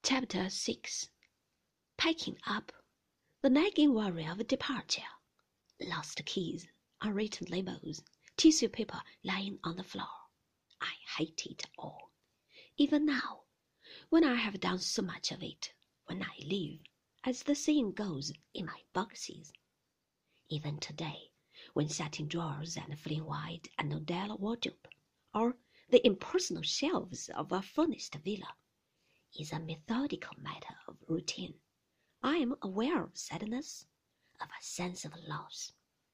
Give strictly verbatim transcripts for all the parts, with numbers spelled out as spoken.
Chapter six. Packing up. The nagging worry of departure. Lost keys, unwritten labels, tissue paper lying on the floor. I hate it all. Even now, when I have done so much of it, when I live, as the saying goes, in my boxes. Even today, when satin drawers and flame white and Odell wardrobe, or the impersonal shelves of a furnished villa, is a methodical matter of routine, I am aware of sadness, of a sense of loss.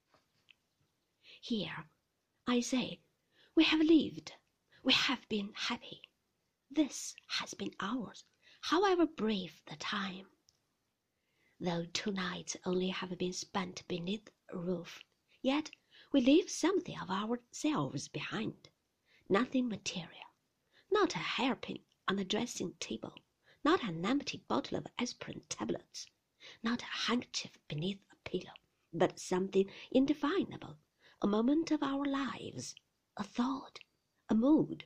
Here, I say, we have lived, we have been happy. This has been ours, however brief the time. Though two nights only have been spent beneath a roof, yet we leave something of ourselves behind. Nothing material, not a hairpin on the dressing table, not an empty bottle of aspirin tablets, not a handkerchief beneath a pillow, but something indefinable, a moment of our lives, a thought, a mood.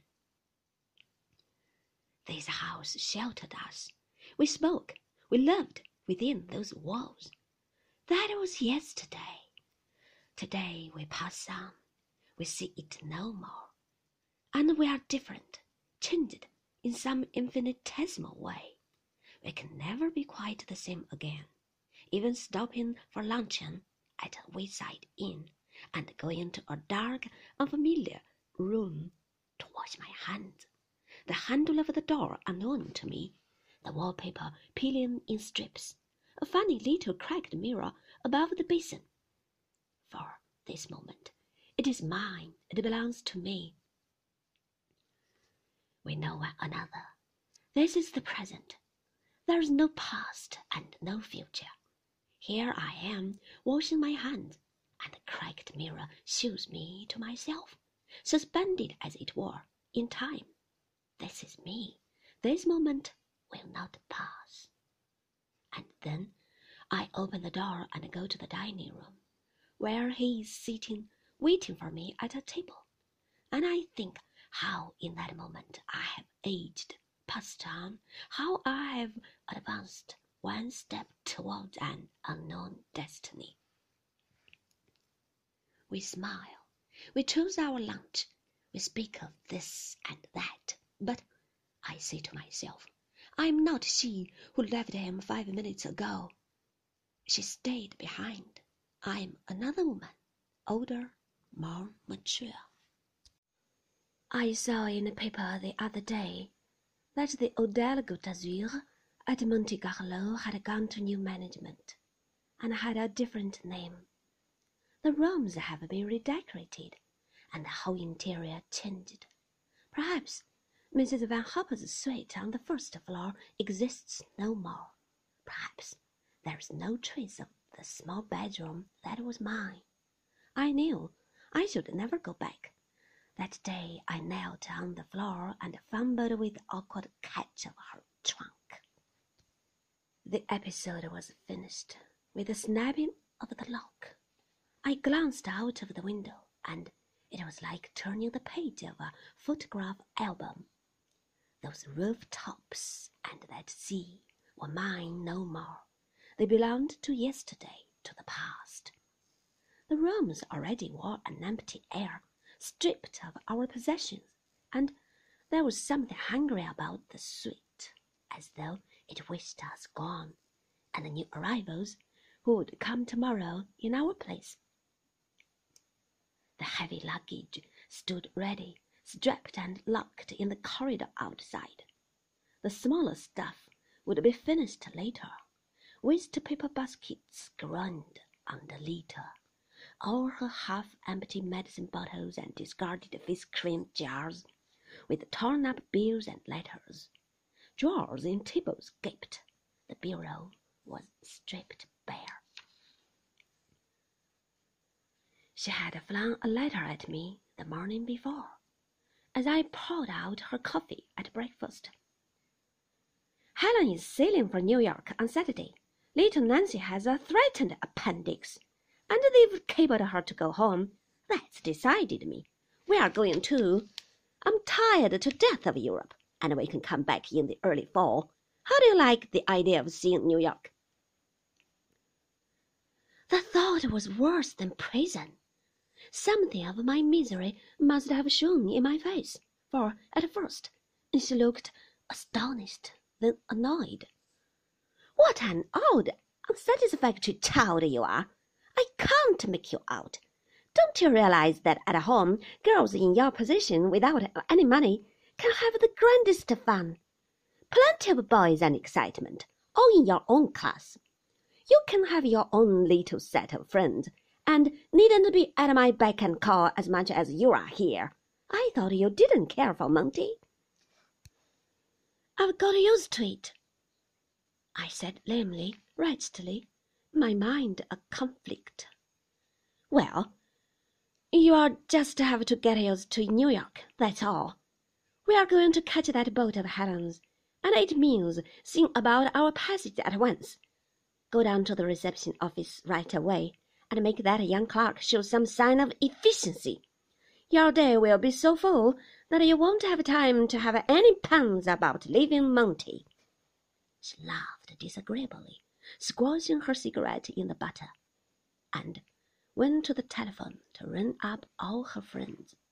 This house sheltered us. We spoke, we loved within those walls. That was yesterday. Today we pass on, we see it no more, and we are different, changed in some infinitesimal way. We can never be quite the same again, even stopping for luncheon at a wayside inn and going to a dark, unfamiliar room to wash my hands, the handle of the door unknown to me, the wallpaper peeling in strips, a funny little cracked mirror above the basin. For this moment, it is mine, it belongs to me. We know one another. This is the present. There is no past and no future. Here I am, washing my hands, and the cracked mirror shows me to myself, suspended as it were, in time. This is me. This moment will not pass. And then I open the door and go to the dining room, where he is sitting, waiting for me at a table, and I think how in that moment I have aged, passed on, how I have advanced one step towards an unknown destiny. We smile, we choose our lunch, we speak of this and that, but I say to myself, I am not she who left him five minutes ago. She stayed behind. I am another woman, older, more mature. I saw in the paper the other day that the Hôtel Côte d'Azur at Monte Carlo had gone to new management, and had a different name. The rooms have been redecorated, and the whole interior changed. Perhaps Missus Van Hopper's suite on the first floor exists no more. Perhaps there is no trace of the small bedroom that was mine. I knew I should never go back. That day I knelt on the floor and fumbled with the awkward catch of her trunk. The episode was finished with the snapping of the lock. I glanced out of the window, and it was like turning the page of a photograph album. Those rooftops and that sea were mine no more. They belonged to yesterday, to the past. The rooms already wore an empty air, stripped of our possessions, and there was something hungry about the suite, as though it wished us gone, and the new arrivals who would come tomorrow in our place. The heavy luggage stood ready, strapped and locked in the corridor outside. The smaller stuff would be finished later. Waste paper baskets groaned on the litter. All her half-empty medicine bottles and discarded face cream jars, with torn-up bills and letters. Drawers in tables gaped. The bureau was stripped bare. She had flung a letter at me the morning before, as I poured out her coffee at breakfast. Helen is sailing for New York on Saturday. Little Nancy has a threatened appendix, and they've cabled her to go home. That's decided me. We are going too. I'm tired to death of Europe, and we can come back in the early fall. How do you like the idea of seeing New York?" The thought was worse than prison. Something of my misery must have shown in my face, for at first she looked astonished, then annoyed. "What an odd, unsatisfactory child you are! I can't make you out. Don't you realize that at home girls in your position without any money can have the grandest fun? Plenty of boys and excitement, all in your own class. You can have your own little set of friends, and needn't be at my beck and call as much as you are here. I thought you didn't care for Monty." "I've got used to it," I said lamely, wretchedly, my mind a conflict. "Well, you'll just have to get used to New York, that's all. We are going to catch that boat of Helen's, and it means seeing about our passage at once. Go down to the reception office right away and make that young clerk show some sign of efficiency. Your day will be so full that you won't have time to have any puns about leaving Monty." She laughed disagreeably, squashing her cigarette in the butter, and went to the telephone to ring up all her friends.